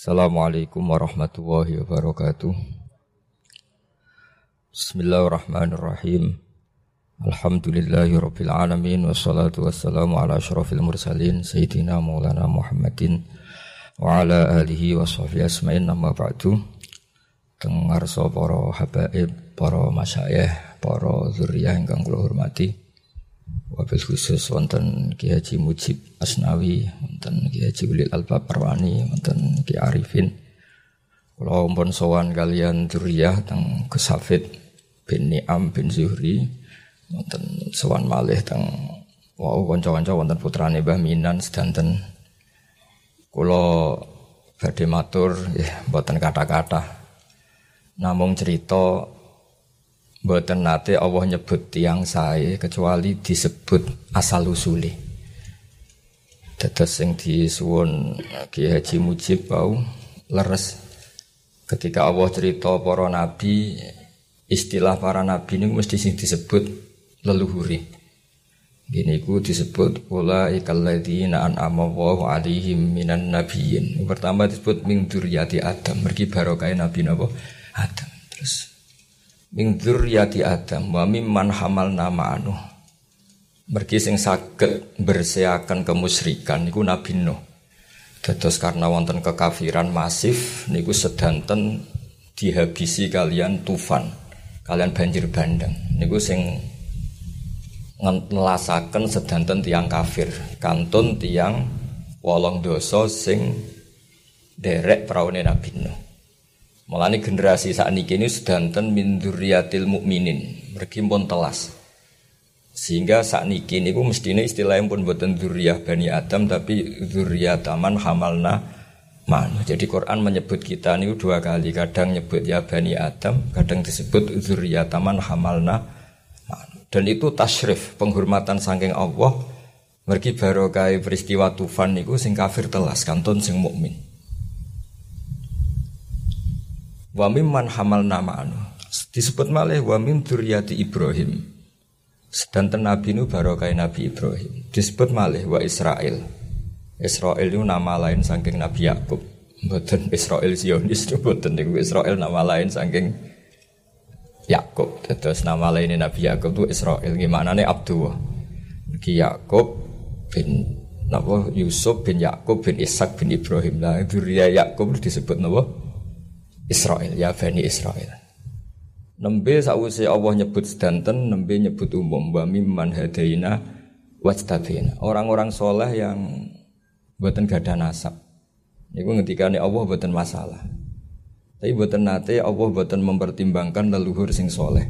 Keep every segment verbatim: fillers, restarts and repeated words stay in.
Assalamualaikum warahmatullahi wabarakatuh. Bismillahirrahmanirrahim. Alhamdulillahirabbil alamin wassalatu wassalamu ala asyrafil mursalin sayyidina maulana Muhammadin wa ala alihi washabihi asma'in amma ba'du. Teng ngarsa para habaib, para masyayikh, para zuriyah ingkang kula hormati. Wabil khusus wonten Ki Haji Mujib Asnawi, wonten Ki Haji Ulil Albab Parwani, wonten Ki Arifin. Kula ampun sowan kalian dzurriyyah teng Gus Hafid bin Ni'am bin Zuhri, wonten sowan malih teng wau kanca-kanca wonten putrane Mbah Minan sedanten. Kula badhe matur nggih mboten kata-kata. Namung cerita mboten nate Allah nyebut tiyang sae kecuali disebut asal usule. Dados sing disuwun Ki Haji Mujib bau leres ketika Allah cerita para nabi, istilah para nabi niku mesti sing disebut leluhure. Gini ku disebut ulaikal ladzina an'ama Allahu 'alaihim minan nabiyyin. Pertama disebut min dzurriyyati Adam, mergi barokah nabi napa Adam. Terus min dzurriyyati Adam wa mimman hamalna ma'anu. Mergi sing saged bersiakan kemusyrikan niku Nabi Nuh. Dados karena wonten kekafiran masif niku sedanten dihabisi kalian tufan, kalian banjir bandang. Niku sing ngelasaken sedanten tiyang kafir, kantun tiyang wolong dosa sing derek praune Nabi Nuh. Mulane generasi sakniki ini sedanten min dzurriyyatil mukminin, mergi pun telas. Sehingga sakniki niku mestine istilahnya pun boten dzurriyyah Bani Adam tapi dzurriyyataman hamalna man. Jadi Quran menyebut kita niku dua kali, kadang nyebut ya Bani Adam, kadang disebut dzurriyyataman hamalna man. Dan itu tasyrif, penghormatan saking Allah. Mergi barokah peristiwa tufan niku sing kafir telas, kantun sing mukmin. Wa mimman hamalna ma'anu. Disebut malih wa min dzurriyyati Ibrahim. Sedanten Nabi nu barokah Nabi Ibrahim. Disebut malih wa Israil. Israil itu nama lain saking Nabi Yakub. Mboten Israil Zionis, mboten niku Israil nama lain saking Yakub. Terus nama lain Nabi Yakub itu Israil. Gimana nih Abdullah? Ki Yakub bin napa Yusuf bin Yakub bin Ishak bin Ibrahim. Lah dzurriyyah Yakub disebut napa? Israel, ya Bani Israel. Nembe sawise Allah nyebut sedanten, nembe nyebut umum wa mimman hadaina wajtabina. Orang-orang soleh yang mboten gadah nasab. Niku ngendikane Allah mboten masalah. Tapi mboten nate Allah mboten mempertimbangkan leluhur sing soleh.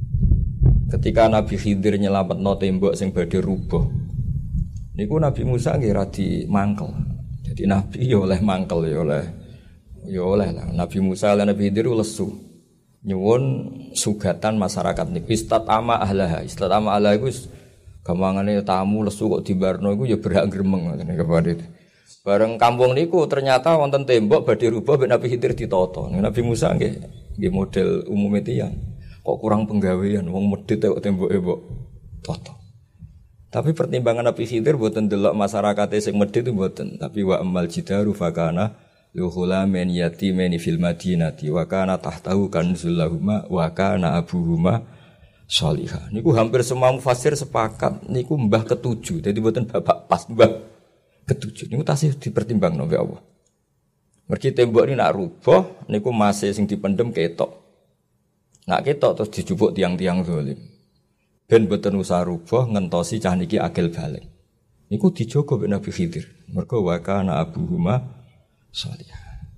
Ketika Nabi Khidir nyelametno tembok sing badhe rubuh. Niku Nabi Musa nggih radi mangkel. Jadi Nabi ya oleh mangkel ya oleh ya oleh lah. Nabi Musa lan Nabi Khidir lesu. Nyuwun sugatan masyarakat niku istatama ahlaha. Istatama ahlaha iku gampangane tamu lesu kok dibarno iku ya berhak gremeng ngoten kepada. Bareng kampung niku ternyata wonten tembok badhe rubah mek Nabi Khidir ditata. Nabi Musa nggih nggih model umume tiyang. Kok kurang penggawean wong medhit kok temboke mbok tata. Tapi pertimbangan Nabi Khidir mboten delok masyarakate sing medhit mboten, tapi wa amal jidaru fakana luhula men yatimeni fil madinati wa kana tahtahu kanzul lahuma wa kana abuhuma sholihah. Niku hampir semua mufassir sepakat niku mbah ketujuh. Jadi mboten bapak pas mbah ketujuh. Niku tasih dipertimbangno mbek Allah. Mergi tembok ini nak rubuh niku masih sing dipendem ketok. Nak ketok terus dijupuk tiang-tiang zalim. Ben mboten usah rubuh ngentosi cah niki akil balik. Niku dijogo mbek Nabi Khidir. Mergo wa kana abuhuma sholihah.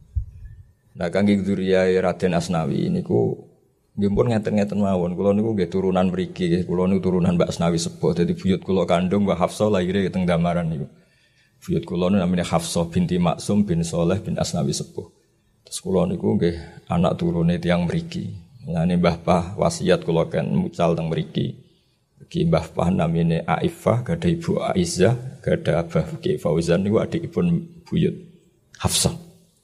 Nah kangge dzurriyyah Raden Asnawi niku nggih pun ngeten-ngeten mawon. Kula niku nggih turunan mriki nggih. Kula niku turunan Mbak Asnawi sepuh. Dadi buyut kula kandung Mbak Hafsah lahire teng Damaran niku. Buyut kula niku namine Hafsah binti Maksum bin Saleh bin Asnawi sepuh. Terus kula niku nggih anak turune tiyang mriki. Mulane Mbah Pah wasiat kula kan mucal teng mriki. Ki Mbah Pah namine Aifah, gadah Ibu Aizzah, gadah Abah Ki Fauzan niku adikipun buyut Hafsah.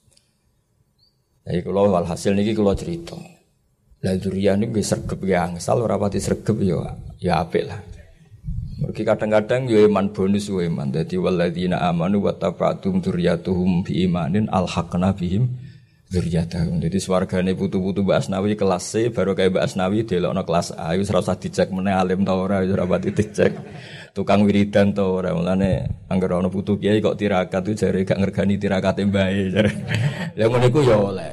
Jadi kalau walhasil niki kalau cerita, lah dzurriyyah niku nggih sregep nggih angsal ora pati sregep ya ya apik lah. Mergi kadang-kadang yo iman bonus yo iman. Dadi walladzina amanu wa tafa'tum dzurriyyatuhum bi imanin alhaqna bihim dzurriyyatahum. Dadi swargane putu-putu Mbak Asnawi kelas C baru kayak Mbak Asnawi delokno kelas A wis ora usah dicek meneh alim ta ora wis ora pati dicek. Tukang wiridan ta ora mulane anggere ana putu kiai kok tirakat itu jare gak ngergani tirakate mbae jare. Ya ngono iku yo oleh.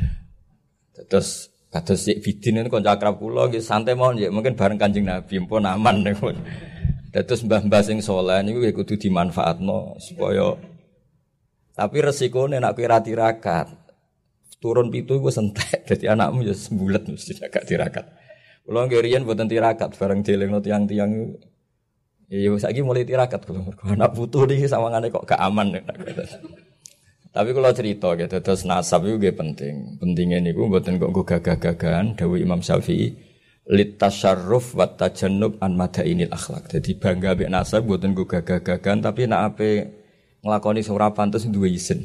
Terus kados Sik Bidin niku kanca akrab kula nggih santai mawon nggih mungkin bareng Kanjeng Nabi mpun aman niku. Dados mbah-mbah sing saleh niku kudu dimanfaatno supaya tapi resikone nek kowe ra tirakat turun pitu iku entek dadi anakmu ya sembulet mesti gak tirakat. Kula nggih riyen mboten tirakat bareng delengno tiyang-tiyang iku. Ya saiki mulai tirakat kula mergo anak putu niki sawangane kok gak aman. Tapi kula cerita gitu terus nasab iku nggih penting. Pentinge niku mboten kok nggo gagah-gagahan dawuh Imam Syafi'i litasyarruf wa tajannub an madainil akhlak. Jadi bangga mek nasab mboten nggo gagah-gagahan tapi nek ape nglakoni sing ora pantes duwe izin.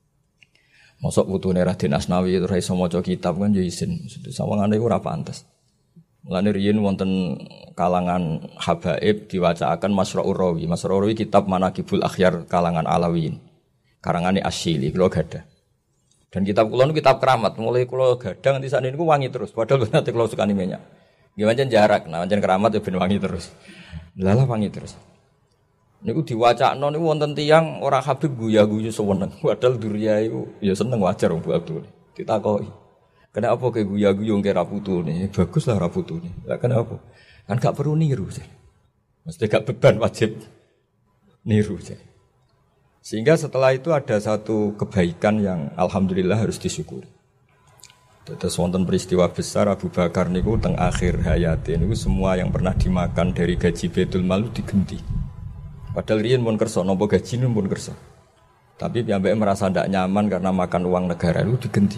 Mosok putune Raden Asnawi ora iso maca kitab kan ya izin. Sawangane iku ora pantes. Mulane riyen wonten kalangan habaib diwacaaken Masra'ur Rawi. Masra'ur Rawi kitab Manaqibul Akhyar kalangan Alawiyin. Karangane Asyili kula gadah. Dan kitab kula niku kitab keramat. Mulai kula gadah nganti sakniki niku wangi terus. Padahal nanti kula sukani minyak. Nggih pancen jarak, nah pancen keramat ya ben wangi terus. Lalah wangi terus. Niku diwacakno niku wonten tiyang ora Habib guya-guyu seweneng. Padahal duriya iku ya seneng wajar wong Abdul. Ditakoki. Kenapa ke guya-guyu ngke ra putune? Bagus lah ra putune. Lah kenapa? Kan gak perlu niru sih. Mesti gak beban wajib niru sih. Sehingga setelah itu ada satu kebaikan yang alhamdulillah harus disyukuri. Terus wonten peristiwa besar Abu Bakar niku teng akhir hayate niku semua yang pernah dimakan dari gaji Baitul Mal digenti. Padahal riyen mun kersa napa gajine pun kersa. Tapi piyambake merasa ndak nyaman karena makan uang negara itu digenti.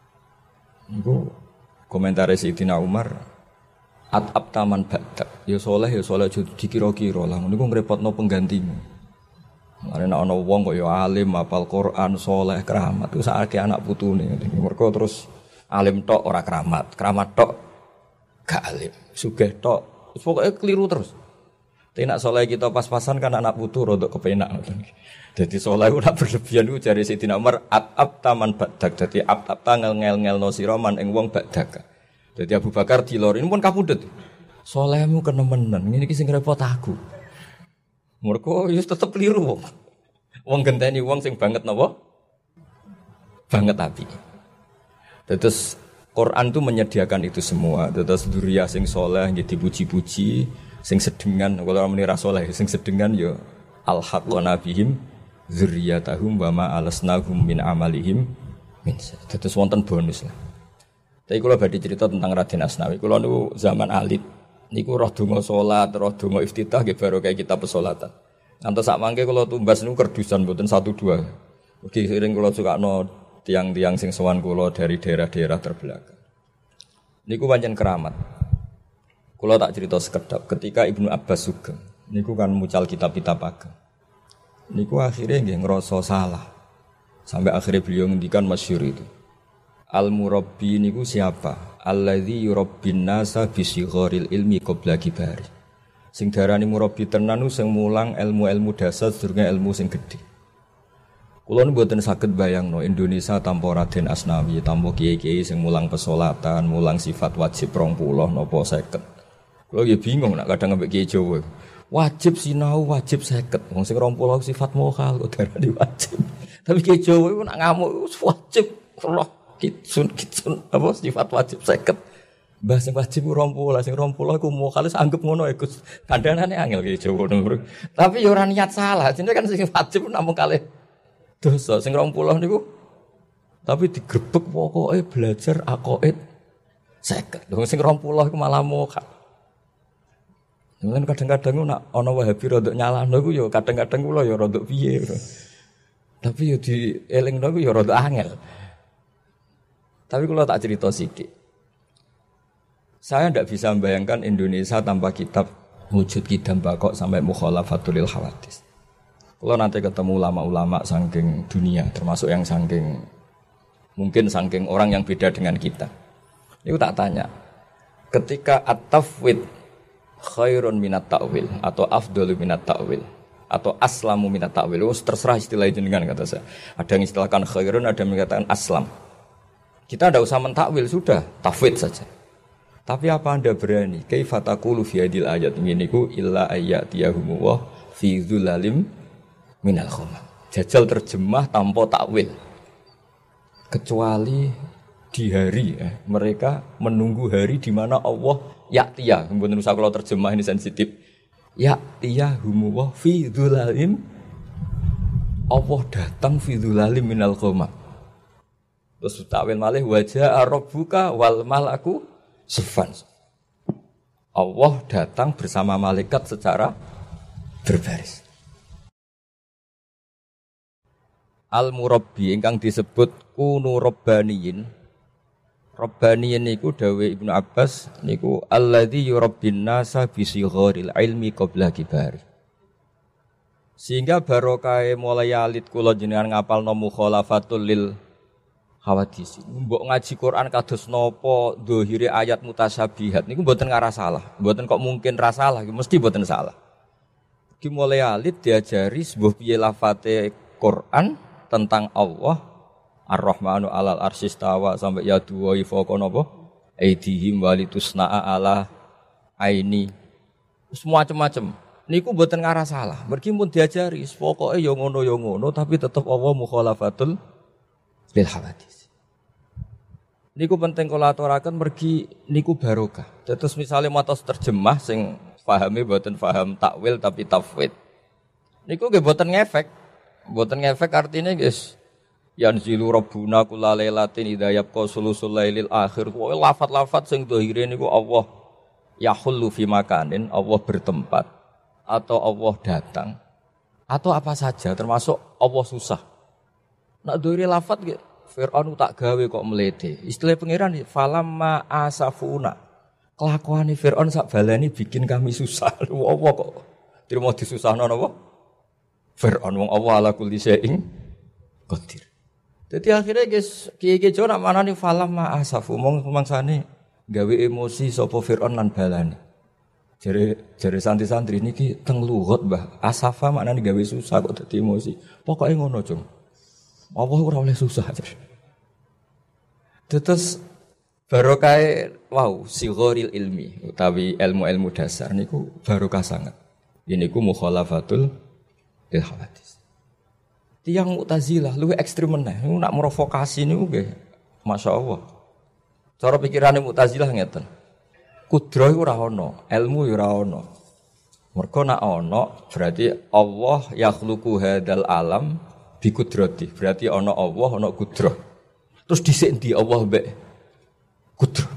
Niku komentare Sayyidina Umar at-ab taman ba'dak. Ya saleh ya saleh dikira-kira lah niku ngrepotno penggantimu. Ana ana wong kok ya alim hafal Quran saleh keramat iku sakake anak putune. Mergo terus alim tok ora keramat, keramat tok gak alim, sugih tok, pokoke keliru terus. Tapi nak soleh kita pas-pasan kan anak putu rodok kepenak. Jadi soleh ora berlebihan ku jare Sayyidina Umar at-ab taman badak. Dadi ab-ab tangel ngel-ngelno sira man ing wong badak. Dadi Abu Bakar dilor ini pun kapundhut. Solehmu kenemenan, ngene iki sing repot aku. Mergo wis tetep keliru wong. Wong genteni wong sing banget napa? Banget api. Terus Quran itu menyediakan itu semua. Terus dzurriyyah sing saleh nggih dipuji-puji, sing sedengan kalau ora muni ra saleh, sing sedengan ya alhaqna bihim dzurriyyatahum wa ma alasnahum min amalihim min. Terus wonten bonus lah. Tapi kula badhe cerita tentang Raden Asnawi. Kula niku zaman alit niku roh donga salat, roh donga iftitah nggih baru kayak kita pesolatan. Ngantos sak mangke kula tumbas niku kerdusan mboten satu dua. Mugi sering kula sukakno tiang-tiang sing sowan kula dari daerah-daerah terbelakang. Niku pancen keramat. Kula tak cerita sekedap ketika Ibnu Abbas sugeng. Niku kan mucal kitab-kitab ageng. Niku akhirnya nggih ngrasa salah. Sampai akhirnya beliau ngendikan masyhur itu. Al-murabbi niku siapa? Alladzi yurabbin nasa bi sigharil ilmi qabla kibari. Sing darani murabbi tenan sing mulang ilmu-ilmu dasar sedurunge ilmu sing gedhe. Kula mboten saged bayangno Indonesia tanpa Raden Asnawi, tanpa kiai-kiai sing mulang pesolatan, mulang sifat wajib rong puluh napa seket. Kula ya bingung nek kadang ambek kiai Jawa. Wajib sinau, wajib seket. Wong sing rong puluh sifat mokal kok darani wajib. Tapi kiai Jawa iku nek ngamuk wajib roh kitsun kitsun apa sifat wajib seket. Mbah sing wajib rong puluh, sing rong puluh iku mokal wis anggap ngono ya Gus. Kandhanane angel kiai Jawa ngono. Tapi ya ora niat salah, jenenge kan sing wajib namung kalih dosa sing rong puluh niku tapi digrebek pokoke belajar aqaid seket. Lho sing rong puluh iku malah mokal. Mungkin kadang-kadang nak ana Wahabi rodok nyalahno iku ya kadang-kadang kula ya rodok piye. Tapi ya dielingno iku ya rodok angel. Tapi kula tak cerita sithik. Saya ndak bisa membayangkan Indonesia tanpa kitab Wujud Kidam Bakok sampai Mukhalafatul Hawadits. Kalau nanti ketemu ulama-ulama saking dunia, termasuk yang saking mungkin saking orang yang beda dengan kita. Itu tak tanya. Ketika at-tafwid khairun minat ta'wil atau afdalu minat ta'wil atau aslamu minat ta'wil. Oh, terserah istilah jenengan kata saya. Ada yang istilahkan khairun, ada yang mengatakan aslam. Kita tidak usah mentakwil, sudah tafwid saja. Tapi apa Anda berani? Kaifa taqulu fi hadil ayat nginiku illa ayyatiyahum wa fi dzulalim minal ghamam. Jajal terjemah tanpa takwil. Kecuali di hari eh, mereka menunggu hari di mana Allah ya'tiya. Mboten usah kalau terjemah ini sensitif. Ya'tiyahum wa fi dzulalim, Allah datang fi dzulalim minal ghamam. Terus takwil malih wajah rabbuka wal malaku safan. Allah datang bersama malaikat secara berbaris. Al-murabbi ingkang disebut kunu rabbaniyin. Rabbaniyin niku dawuh Ibnu Abbas niku alladzi yurabbin nasa bi sigharil ilmi qabla kibari. Sehingga barokah mulai alit kula jenengan ngapalno mukhalafatul lil hawadis. Mbok ngaji Quran kados napa dhahire ayat mutasyabihat niku mboten ngarah salah. Mboten kok mungkin ra salah, mesti mboten salah. Ki mulai alit diajari sebuah piye lafate Quran tentang Allah Ar-Rahmanu alal arsy istawa sampai ya duwa fawqa napa aidihim walitusna'a ala aini. Semua macam-macam. Niku mboten ngarah salah. Mergi pun diajari pokoke ya ngono ya ngono tapi tetep Allah mukhalafatul lil hawadis. Niku penting kula aturaken mergi niku barokah. Terus misalnya matos terjemah sing pahami mboten paham takwil tapi tafwid. Niku nggih mboten ngefek. Mboten ngefek artinya guys. Yanzilu rabbuna kullalailatin idza yabqa sulusul lailil akhir. Kuwi lafat-lafat sing dhahire niku Allah yahullu fi makanin, Allah bertempat atau Allah datang atau apa saja termasuk Allah susah. Nak dhahire lafat nggih Fir'aun tak gawe kok mlete. Istilah pangeran falamma asafuna. Kelakuane Fir'aun sak baleni bikin kami susah. Allah kok trimo disusahno napa? Fir'aun wong Allah ala kulli syai'in qadir. Dadi akhirnya guys, kiye-kiye jo nak manani falamma asafu mong mangsane gawe emosi sapa Fir'aun lan balani. Jare jare santri-santri niki teng luhut Mbah. Asafa maknane gawe susah kok dadi emosi. Pokoke ngono, Cung. Allah ora oleh susah. Terus barokah wow sighoril ilmi utawi ilmu-ilmu dasar niku barokah sangat. Ini ku mukhalafatul lil hawadis. Tiang Mu'tazilah luwih ekstrem meneh. Niku nak provokasi niku nggih masyaallah. Cara pikirane Mu'tazilah ngeten. Kudroh iku ora ana, ilmu ora ana. Mergo nak ana berarti Allah yakhluqu hadzal alam bi kudrati. Berarti ana Allah, ana kudroh. Terus dhisik ndi Allah mbek kudroh.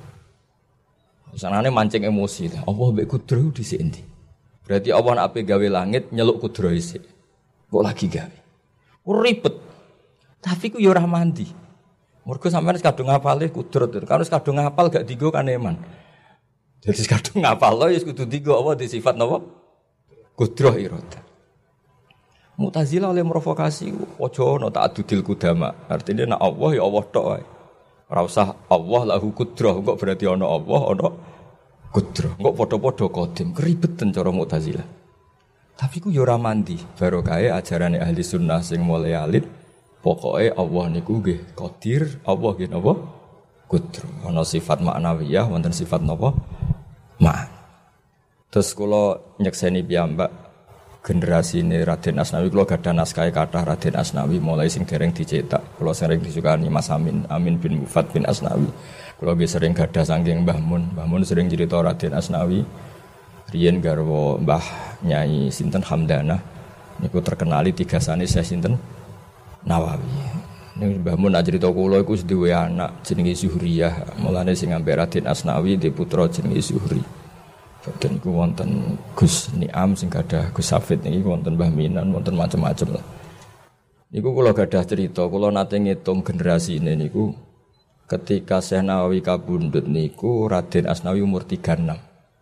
Sanane mancing emosi. Allah mbek kudroh dhisik ndi? Berarti Allah nak ape gawe langit nyeluk kudroh isik. Kok lagi gawe? Ribet. Tapi ku ya ora mandi. Mergo sampeyan wis kadung ngapale kudrat. Kalau wis kadung ngapal gak digo kan eman. Jadi kadung ngapal lho wis kudu digo apa di sifat napa? Kudrah irada. Mu'tazilah oleh provokasi aja ana ta'addudil qudama. Artinya nek Allah ya Allah tok wae. Ora usah Allah lahu kudrah kok berarti ana Allah ana kudrah. Kok padha-padha qadim keribetan cara Mu'tazilah. Tapi ku yo ora mandi, barokahe ajarane ahli sunnah sing mulai alit, pokoke Allah niku nggih qadir, Allah nggih napa? Qudra. Ana sifat maknawiyah, wonten sifat napa? Ma'an. Terus kula nyekseni piyambak generasine Raden Asnawi, kula gadah naskah kathah Raden Asnawi mulai sing dereng dicetak. Kula sering disukani Mas Amin, Amin bin Mufad bin Asnawi. Kula nggih sering gadah saking Mbah Mun. Mbah Mun sering cerita Raden Asnawi. Riyen garwa Mbah Nyai sinten Hamdanah niku terkenali tigasane Syekh sinten Nawawi. Nek Mbah Mun cerita kula iku wis duwe anak jenenge Zuhriyah. Mulane sing ambek Raden Asnawi di putra jenenge Zuhri. Badan iku wonten Gus Niam sing gadah Gus Safid niki wonten Mbah Minan wonten macam-macam lah. Niku kula gadah cerita, kula nate ngitung generasine niku ketika Syekh Nawawi kabundut niku Raden Asnawi umur tiga puluh enam.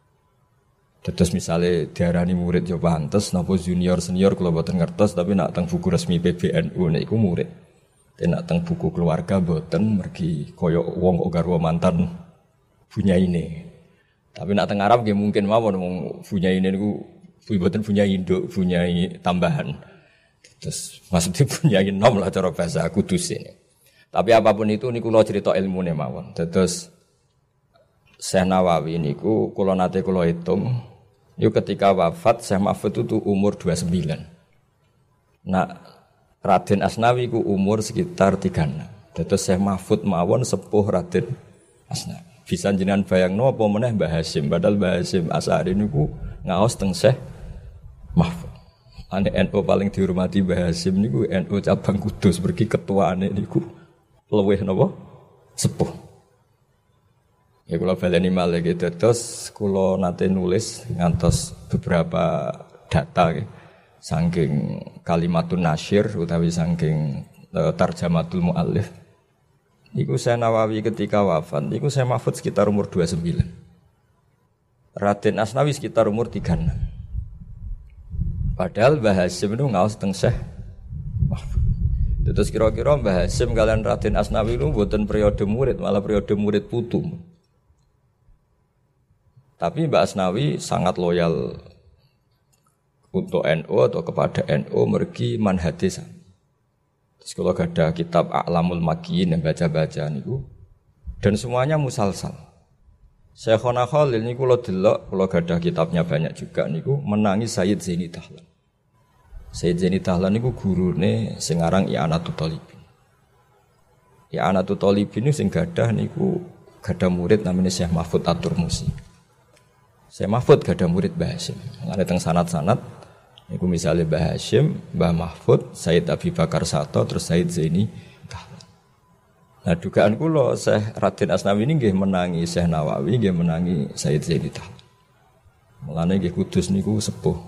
Terus misalnya diarani murid yo pantes napa junior senior kula boten ngertos tapi nak teng buku resmi P B N U niku murid. Ten nak teng buku keluarga boten mergi kaya wong kok garwa mantan bunyaine. Tapi nak teng Arab nggih mungkin mawon wong punya ini niku mboten punya induk, punya tambahan. Terus maksudnya punya nom lah cara bahasa Kudus ini. Tapi apapun itu niku kula cerita ilmune mawon. Terus Syekh Nawawi niku kula nate kula hitung, yo ketika wafat Syekh Mahfud itu umur dua puluh sembilan. Nah, Raden Asnawi ku umur sekitar tiga puluh enam. Terus Syekh Mahfud mawon sepuh Raden Asnawi. Bisa jenengan bayangno apa meneh Mbah Hasyim, padahal Mbah Hasyim Asy'ari niku ngaos teng Syekh Mahfud. Ane N U paling dihormati Mbah Hasyim niku N U cabang Kudus, pergi ketuaane niku luwih napa? Sepuh. Ya kula baleni malih gitu. Terus kula nate nulis ngantos beberapa data nggih. Saking kalimatun nasyir utawi saking uh, tarjamatul muallif. Iku Syekh Nawawi ketika wafat, iku Syekh Mahfud sekitar umur dua puluh sembilan. Raden Asnawi sekitar umur tiga puluh enam. Padahal Mbah Hasyim itu ngaos teng Syekh Mahfud. Terus kira-kira Mbah Hasyim kalian Raden Asnawi itu mboten periode murid, malah periode murid putu. Tapi Mbah Asnawi sangat loyal untuk N U atau kepada N U mergi manhadis. Terus kalau ada kitab A'lamul Makiyin yang baca-baca niku dan semuanya musalsal. Syekhona Khalil niku kula delok, kula gadah kitabnya banyak juga niku menangi Sayyid Zaini Dahlan. Sayyid Zaini Dahlan niku gurune sing aran I'anatul Thalibin. I'anatul Thalibin niku sing gadah niku gadah murid namanya Syekh Mahfud At-Turmusi. Syekh Mahfud gadah murid Mbah Hasyim. Ada teng sanad-sanad niku misalnya Mbah Hasyim, Mbah Mahfud, Sayyid Abi Bakar Sato, terus Sayyid Zaini Dahlan. Nah dugaan kula Syekh Raden Asnawi ini nggih menangi Syekh Nawawi, nggih menangi Sayyid Zaini Dahlan. Mulane nggih Kudus niku sepuh.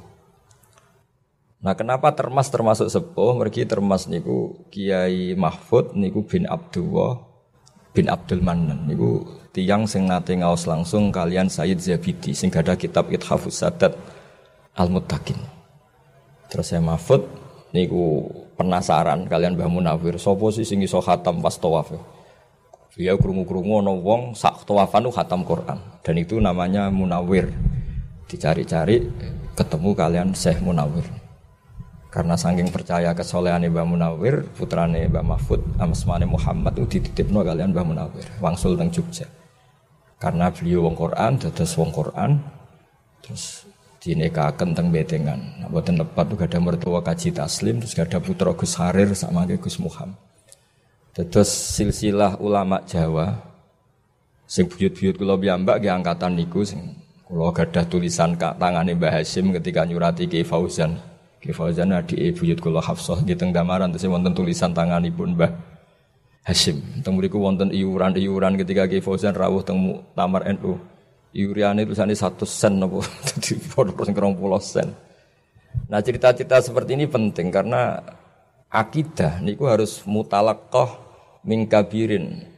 Nah kenapa Termas termasuk sepuh? Mergi Termas niku Kiai Mahfud niku bin Abdullah bin Abdul Manan niku tiyang sing nate ngaos langsung kalian Sayyid Zabidi sing gadah kitab Ithafus Sadat Al-Muttaqin. Terus saya Mahfud niku penasaran kalian Mbah Munawir sapa sih sing iso khatam pas tawaf. Dia krungu-krungu ana wong sak tawafan ku khatam Quran dan itu namanya Munawir. Dicari-cari ketemu kalian Syekh Munawir. Karena saking percaya kesolehane Mbah Munawir, putrane Mbah Mahfud, asmane Muhammad itu dititipno kalian Mbah Munawir, wangsul teng Jogja. Karena beliau wong Quran, dados wong Quran, terus dinikahaken teng Betengan. Nah, boten lepat tuh gada mertua Kaji Taslim, terus gada putra Gus Harir sama Gus Muhammad. Terus silsilah ulama Jawa, sing buyut-buyut kula piyambak nggih angkatan niku sing kula gadah tulisan kak tangane Mbah Hasyim ketika nyurati Ki Fauzan. Ki Fauzan adike buyut kula Hafsah nggih teng Damaran terus wonten tulisan tanganipun Mbah Hasyim. Teng mriku wonten iuran-iuran ketika Ki Fauzan rawuh teng Muktamar N U. Iuriane tulisane satu sen apa dadi dua puluh sen. Nah, cerita-cerita seperti ini penting karena akidah niku harus mutalaqqah min kabirin.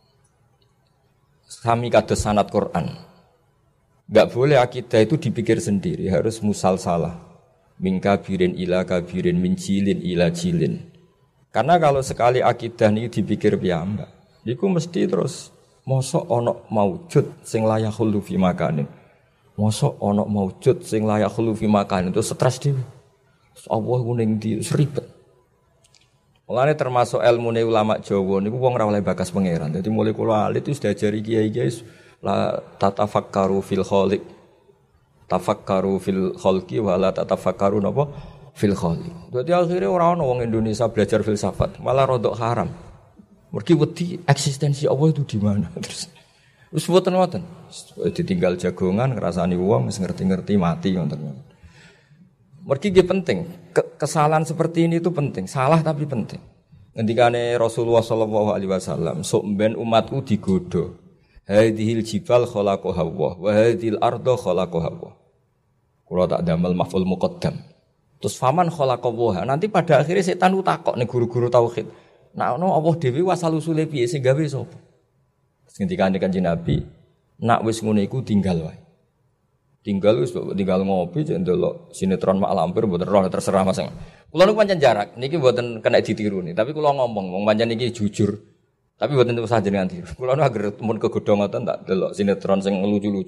Sami kados sanad Quran. Enggak boleh akidah itu dipikir sendiri, harus musalsalah. Min kabirin ila kabirin, min jilin ila jilin. Karena kalau sekali akidah niku dipikir piyambak, niku mesti terus mosok ana maujud sing layak khulu fi makanin. Mosok ana maujud sing layak khulu fi makanin itu stres dhewe. Allah ku ning ndi ribet. Mulane termasuk ilmune ulama Jawa niku wong ora oleh bakas pangeran. Dadi mulai kula alit wis diajari kiai-kiai la tatafakkaru fil khaliq. Tafakkaru fil khalqi wa la tatafakkaru napa fil khaliq. Dadi akhire ora ana wong Indonesia belajar filsafat, malah rodok haram. Mergi wedi eksistensi Allah itu di mana terus. Wis mboten-mboten. Ditinggal jagongan ngrasani wong wis ngerti-ngerti mati ngoten. Mergi nggih penting. Kesalahan seperti ini itu penting. Salah tapi penting. Ngendikane Rasulullah sallallahu alaihi wasallam, sok ben umatku digodho. Hadhil jibal khalaqaha Allah wa hadhil arda khalaqaha Allah. Kula tak damel maf'ul muqaddam. Terus faman khalaqaha. Nanti pada akhirnya setan ku takok ning guru-guru tauhid. Nah, no Allah dhewe wasal usule piye sing gawe sapa? Ngendikane Kanjeng Nabi, nak wis ngono iku tinggal wae. Tinggal wis tinggal ngopi cek ndelok sinetron mak lampir mboten roh terserah Mas. Kula niku pancen jarak, niki mboten kena ditiru nih, tapi kula ngomong wong pancen niki jujur. Tapi mboten usah jenengan tiru. Kula nu agar mun kegodho ngoten tak delok sinetron sing lucu-lucu.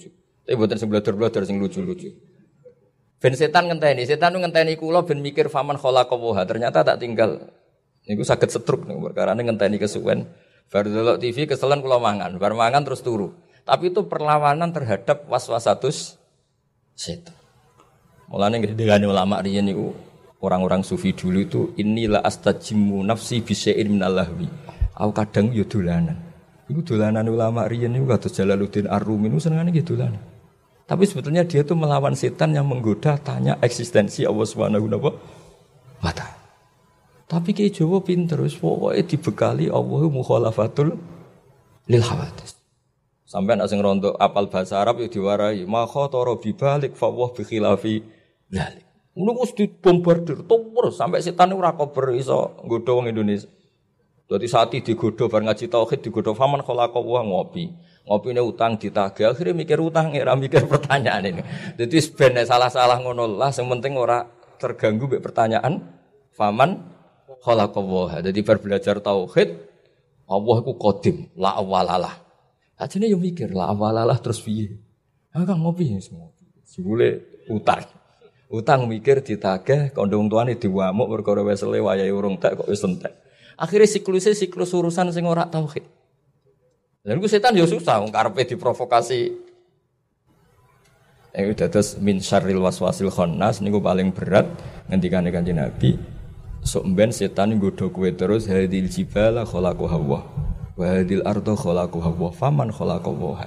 Tapi mboten sing blodor-blodor sing lucu-lucu. Ben setan ngenteni, setan ngenteni kula ben mikir faman khalaqaha. Ternyata tak tinggal niku saged setruk niku perkarane ngenteni kesuwen. Bar delok T V keselen kula mangan, bar mangan terus turu. Tapi itu perlawanan terhadap waswasatus setan. Mulane ngene ulama riyen niku orang-orang sufi dulu itu inilah astajimu nafsi bisya'in minal lahwi. Aku kadang yo dolanan. Iku dolanan ulama riyen niku kados Jalaluddin Ar-Rumi niku senengane nggih dolanan. Tapi sebetulnya dia itu melawan setan yang menggoda tanya eksistensi Allah Subhanahu wa taala. Tapi ki Jawa pinter wis pokoke dibekali Allahu mukhalafatul lil hawadits. Sampai nek sing rondo apal bahasa Arab yo diwarai ma khatara bi balik fa wa bi khilafi dzalik. Ngono wis dibombardir terus sampai setan ora kober iso nggodha wong Indonesia. Dadi sati digodha bar ngaji tauhid digodha faman khalaqa wa ngopi. Ngopine utang ditagih akhire mikir utang ora mikir pertanyaan ini. Dadi ben salah-salah ngono lah sing penting ora terganggu mek pertanyaan faman khalaqa wa. Dadi bar belajar tauhid Allah iku qadim la awalalah. Ajene yo mikir la awalalah terus piye? Ah kan ngopi semua. Jebule utang. Utang mikir ditagih kandha wong tuane diwamuk perkara wesele wayahe urung tek kok wis entek. Akhire siklusé siklus urusan sing ora tauhid. Lha niku setan ya susah wong karepe diprovokasi. Eh dados min syarril waswasil khannas niku paling berat ngendikane Kanjeng Nabi. Sok mben setan nggodha kowe terus hadil jibala khalaqaha wa wa hadil arda khalaqaha wa faman khalaqaha.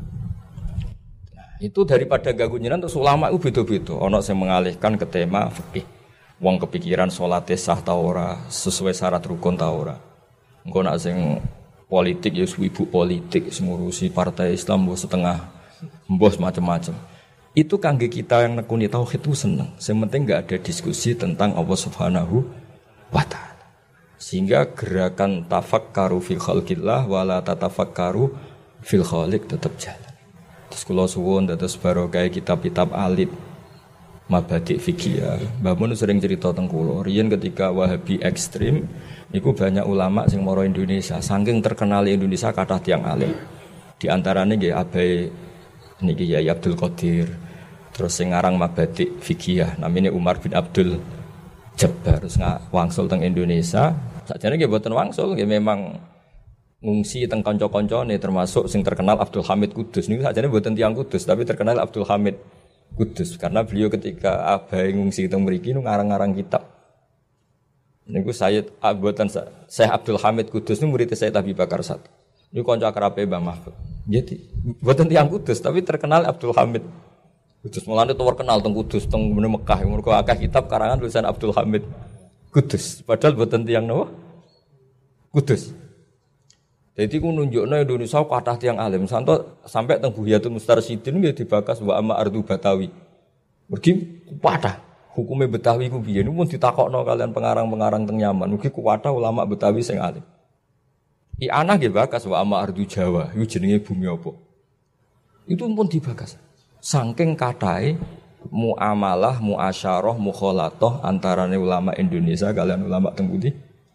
Itu daripada ganggu jenengan terus ulama itu beda-beda. Ana sing mengalihkan ke tema fikih. Wong kepikiran salate sah ta ora, sesuai syarat rukun ta ora. Engko nek sing politik ya ibu politik sing ngurusi partai Islam mbok setengah mbos macam-macam. Itu kangge kita yang nekuni tauhid itu seneng. Sing penting enggak ada diskusi tentang Allah Subhanahu wa taala. Sehingga gerakan tafakkaru fil khalqillah wala tatafakkaru fil khaliq tetap jalan. Terus kula suwun dados barokah kitab-kitab alit Mabadi' Fikih. Mbah Mun sering cerita teng kula, riyen ketika Wahabi ekstrem niku banyak ulama sing mara Indonesia, saking terkenal Indonesia kathah tiyang alim. Di antarane nggih Abai niki Yai Abdul Qadir. Terus sing aran Mabadi' Fikih namine Umar bin Abdul Jabbar, terus wangsul teng Indonesia. Sakjane nggih boten wangsul, nggih memang ngungsi teng kanca-kancane termasuk sing terkenal Abdul Hamid Kudus. Niku sakjane mboten tiyang Kudus tapi terkenal Abdul Hamid Kudus karena beliau ketika abai ngungsi teng mriki nu ngarang-ngarang kitab. Niku Sayyid Abutan Syekh Abdul Hamid Kudus niku murid Sayyid Abi Bakar satu. Niku kanca akrabe Mbah Mahfud. Jadi mboten tiyang Kudus tapi terkenal Abdul Hamid Kudus. Mulane terkenal teng Kudus teng Mekah. Mergo akeh kitab karangan tulisan Abdul Hamid Kudus. Padahal mboten tiyang napa? Kudus. Jadi ku nunjukno Indonesia kathah tiyang alim santo sampai teng Buhyatul Mustarsyidin nggih dibakas wa amma ardu Batawi. Mergi kathah hukume Betawi ku piye niku pun ditakokno kalian pengarang-pengarang teng Yaman. Mugi kathah ulama Betawi sing alim. I ana nggih bakas wa amma ardu Jawa, iku jenenge bumi apa? Itu pun dibakas. Saking kathahe muamalah, muasyarah, mukhalatah antarane ulama Indonesia kalian ulama teng pundi?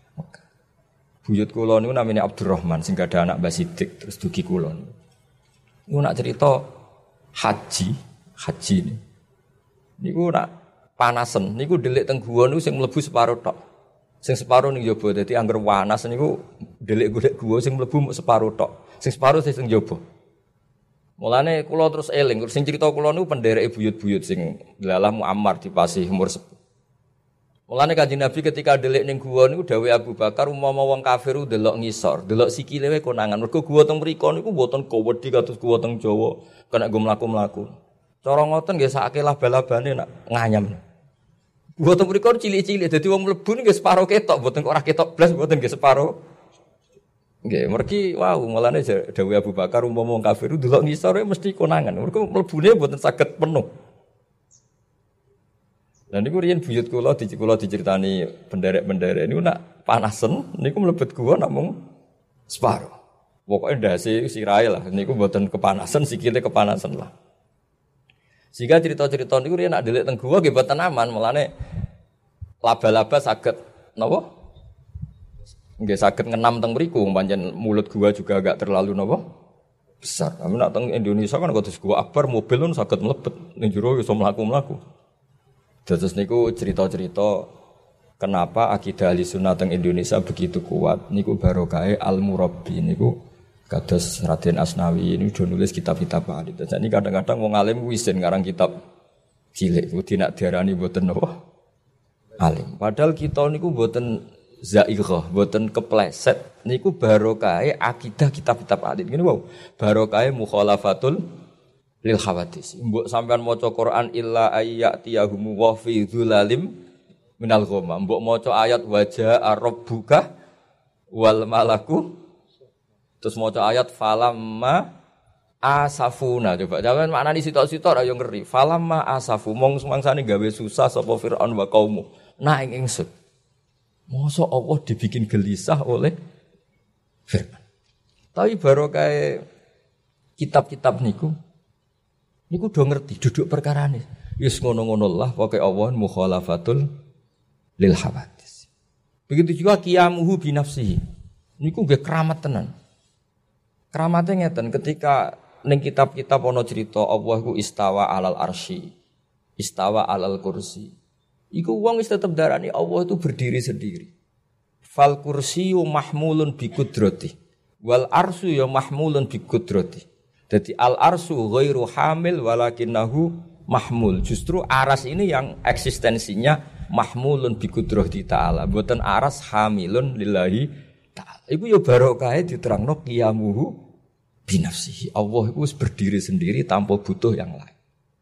Buyut kula niku namine Abdurrahman sing gadah anak Mbah Sidik terus dugi kula. Niku nak cerita haji, haji ini. Niku nak panasen, niku delik teng guwa niku sing mlebu separo tok. Sing separo ning jaba dadi angger panas niku delik golek guwa sing mlebu mung separo tok. Sing separo sing jaba. Mulane kula terus eling, sing cerita kula niku pendereke buyut-buyut sing lalah Muammar dipasih umur sepuh. Mulane Kanjeng Nabi ketika delik ning guwa niku dawuh Abu Bakar umpama wong kafir delok ngisor, delok sikile wae konangan. Mergo guwa teng mriku niku mboten kowedi kados guwa teng Jawa, kena nggo mlaku-mlaku. Cara ngoten nggih sakake laba-labane nak nganyam. Guwa teng mriku cilik-cilik dadi wong mlebu nggih separo ketok, mboten kok ora ketok blas, mboten nggih separo. Nggih, mergi wow, mulane dawuh Abu Bakar umpama wong kafir delok ngisor wae mesti konangan. Mergo mlebune mboten saged penuh. Dan niku riyen buyut kula di kula diceritani penderek-penderek niku nak panasen niku mlebet gua namung separo. Pokoke ndase sirahe lah niku mboten kepanasan sikile kepanasan lah. Sehingga cerita-cerita niku riyen nak delik teng gua nggih mboten aman, mulane laba-laba saged napa? Nggih saged ngenam teng mriku pancen mulut gua juga agak terlalu napa? besar. Tapi nak teng Indonesia kan kados gua akbar mobil pun saged mlebet ning jero iso mlaku-mlaku. Terus niku cerita-cerita kenapa akidah Ahlussunnah teng Indonesia begitu kuat niku barokahe Al-Murabbi niku kados Raden Asnawi ini udah nulis kitab-kitab hadis. Jadi kadang-kadang wong alim wisin ngarang kitab cilik kudu nak diarani mboten napa alim. Padahal kita niku mboten zaighah, mboten kepleset. Niku barokahe akidah kitab-kitab hadis. Ngene wae. Barokahe mukhalafatul lil hawadits. Mbok sampean maca Quran illa ayyatiyahum wa fi dzulalim minal ghamam. Mbok maca ayat wajaa rabbuka wal malaku terus maca ayat falamma asafuna. Coba jangan maknani sitok-sitok ayo ngeri. Falamma asafu mong semangsane gawe susah sapa Firaun wa kaumu. Nah ing ingsun. Mosok Allah dibikin gelisah oleh Firman. Tapi barokah kitab-kitab niku niku do ngerti duduk perkarane. Wis ngono-ngono lah pokoke Allah mukhalafatul lil hawadits. Begitu juga qiyamuhu bi nafsihi. Niku nggih keramat tenan. Keramate ngeten ketika ning kitab-kitab ana cerita Allah ku istawa alal arsy, istawa alal kursi. Iku wong wis tetep darani Allah itu berdiri sendiri. Fal kursiyyu mahmulun bi qudrati wal arsyu ya mahmulun bi qudrati. Jadi al arsyu ghairu hamil walakinahu mahmul. Justru aras ini yang eksistensinya mahmulun bi qudrati ta'ala. Mboten aras hamilun lillahi ta'ala. Iku ya barokahe diterangno qiyamuhu bi nafsihi. Allah itu berdiri sendiri tanpa butuh yang lain.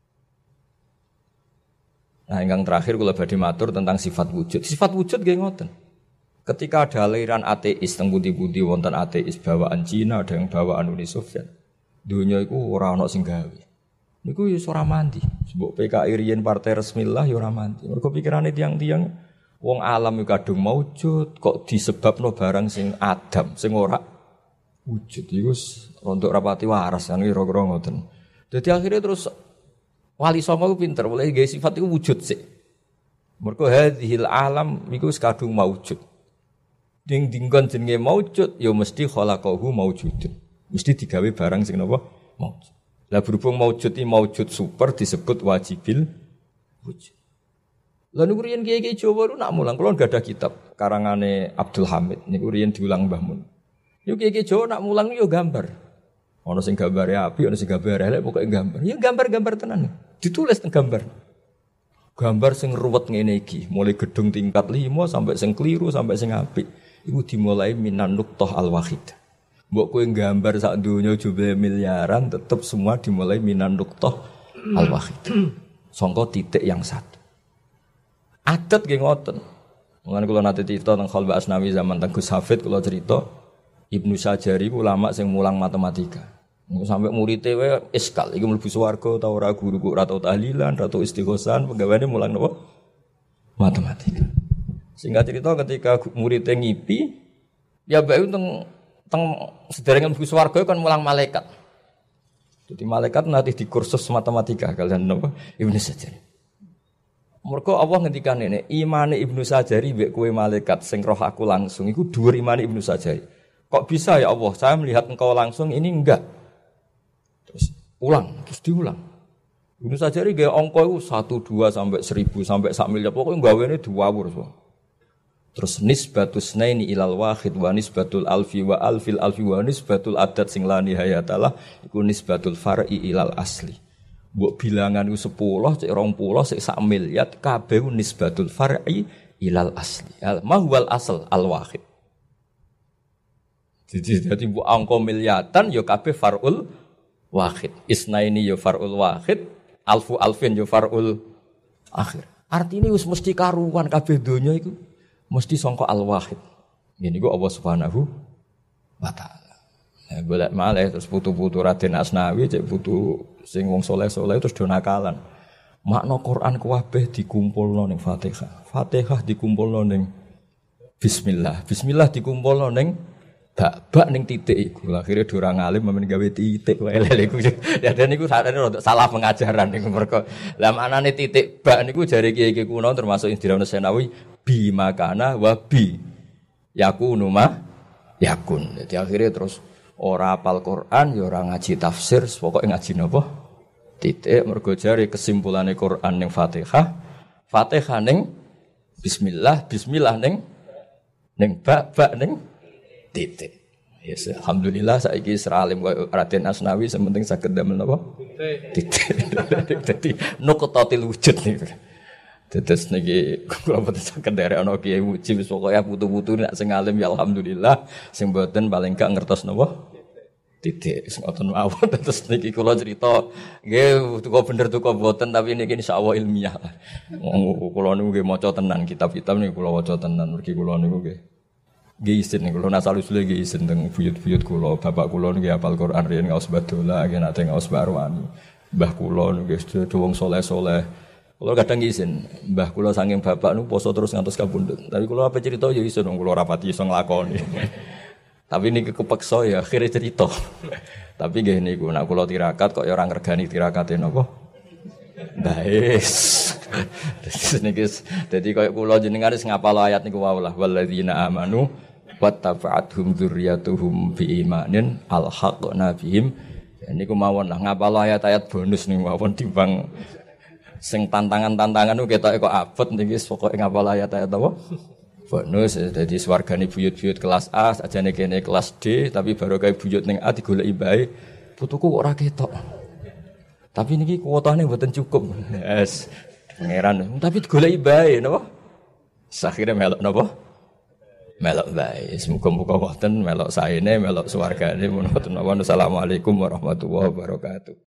Nah, yang terakhir kula badhe matur tentang sifat wujud. Sifat wujud nggih ngoten. Ketika ada aliran ateis teng pundi-pundi wonten ateis bawaan Cina, ada yang bawaan Uni Soviet. Dunia iku ora ana sing gawe. Niku ya ora mandi. Sebab P K I riyen partai resmi lah ya ora mandi. Mergo pikirane tiang-tiang wong alam iku kadung maujud kok disebabno barang sing adam, sing ora wujud. Iku rontok rapati waras kan kira-kira ngoten. Dadi akhirnya terus Wali Songo ku pinter, boleh gawe sifat iku wujud sik. Mergo hadhil alam iku wis kadung maujud. Ding dinggon jenenge maujud ya mesti khalaqahu maujudun. Mesti digawe barang sing napa maujud. Lah berhubung maujud iki maujud super disebut wajibil wujud. Lah niku riyen kiai-kiai Jawa lu nak mulang kula enggak ada kitab karangane Abdul Hamid niku riyen diulang Mbah Mun. Yo kiai-kiai Jawa nak mulang yo gambar. Ana sing gambare api, ana sing gambare elek pokoke gambar. Ya gambar-gambar tenan. Ditulis teng gambar. Gambar sing ruwet ngene iki, mulai gedung tingkat lima sampai sing kliru sampai sing apik. Iku dimulai minan nuqtah al-wahid. Mbok kowe gambar sak donya jumlah miliaran tetep semua dimulai minan nuqtah al-wahid. Sangka titik yang satu. Adat nggih ngoten. Mulane kula nate cerita teng Khalwa Asnawi zaman teng Gus Hafid kula cerita Ibnu Sajari ulama sing mulang matematika. Sampai muridé wae iskal iki mlebu swarga ta ora guru kok ora tau tahlilan, ora tau istighosan, penggaweane mulang napa? Matematika. Singkat cerita ketika muridé ngipi, ya bae teng teng sederenge mlebu swarga kan mulang malaikat. Jadi malaikat nanti di kursus matematika kalian napa? Ibnu Sajari. Mergo Allah ngendikan ngene, imane Ibnu Sajari mbek kowe malaikat sing roh aku langsung iku dhuwur imane Ibnu Sajari. Kok bisa ya Allah, saya melihat engkau langsung ini enggak. Terus ulang, terus diulang. Ibnu Sajari gaya angka itu satu, dua, sampai seribu, sampai sak miliar. Pokoknya gawene diwawur. So. Terus nisbatus naini ilal wahid wa nisbatul alfi wa alfil alfi wa nisbatul adat sing la nihayatalah iku nisbatul far'i ilal asli. Mbok bilangan itu sepuluh, cek dua puluh, cek sak miliar, kabeh nisbatul far'i ilal asli. Mahwal asal al wahid. Jadi jadi bu angka miliatan yo kabeh farul wahid. Isnaini yo farul wahid, alfu alfin yo farul akhir. Artine wis mesti karuan kabeh donya iku mesti sangka al wahid. Ngene iku Allah Subhanahu wa taala. Nah, golek malih terus putu-putu Raden Asnawi cek putu sing wong saleh-saleh terus do nakalan. Makna Quran kabeh dikumpulno ning Fatihah. Fatihah dikumpulno ning bismillah. Bismillah dikumpulno ning bak-bak ning titik iku. Akhire ora ngalim men gawe titik wae lele iku. Ya dan niku sakjane rada salah pengajaran niku mergo. Lah maknane titik bak niku jare kiai-kiai kuno termasuk Indra Senawi bi makana wa bi yakunu ma yakun. Jadi akhirnya terus ora apal Quran ya ora ngaji tafsir, pokoke ngaji napa? Titik mergo jare kesimpulane Quran ning Fatihah, Fatihah ning bismillah, bismillah ning ning ba ba ning titik. Yes, alhamdulillah saiki Isra alim koyo Raden Asnawi sementing saged damel napa? Titik. Dadi nuqtatil wujud niku. Tetes niki kula boten saged derek ana kiai muji wis pokoke putu-putu nek sing alim ya alhamdulillah, sing boten paling gak ngertos napa? Titik sing ngoten mawon. Terus niki kula cerita nggih tuku bener tuku boten tapi niki insyaallah ilmiah. Wong kula niku nggih maca tenan kitab-kitab niku kula waca tenan mergi kula niku nggih. Nggih isin niku kula nasal usule nggih isin teng buyut-buyut kula. Bapak kula niku hafal Quran riyen ngaos badola nggih nate ngaos barwani. Mbah kula niku nggih wong saleh-saleh. Kula kadang isin, mbah kula saking bapak niku poso terus ngantos kabundut. Tapi kula apa cerita ya isin wong kula rapati iso nglakoni. Tapi niki kepeksa ya akhire cerita. Tapi nggih niku nek kula tirakat kok ya ora ngregani tirakate napa? Bais. Niki dadi koyo kula jenengan wis ngapal ayat niku wae lah walladzina amanu wattaba'athum dzurriyyatuhum biimanin alhaqna bihim. Niku mawon lah ngapal ayat-ayat bonus niku mawon timbang sing tantangan-tantangan niku ketoke kok abot niki pokoke ngapal ayat-ayat apa? Bonus dadi swargane buyut-buyut kelas A sajane kene kelas D tapi baru kae buyut ning A digoleki bae putuku kok ora ketok. Tapi niki kuotane mboten cukup. Yes. Pangeran tapi digoleki bae napa? Sakhire melok napa? Melok bae. Muga-muga wonten melok saene melok swargane menawa. Assalamualaikum warahmatullahi wabarakatuh.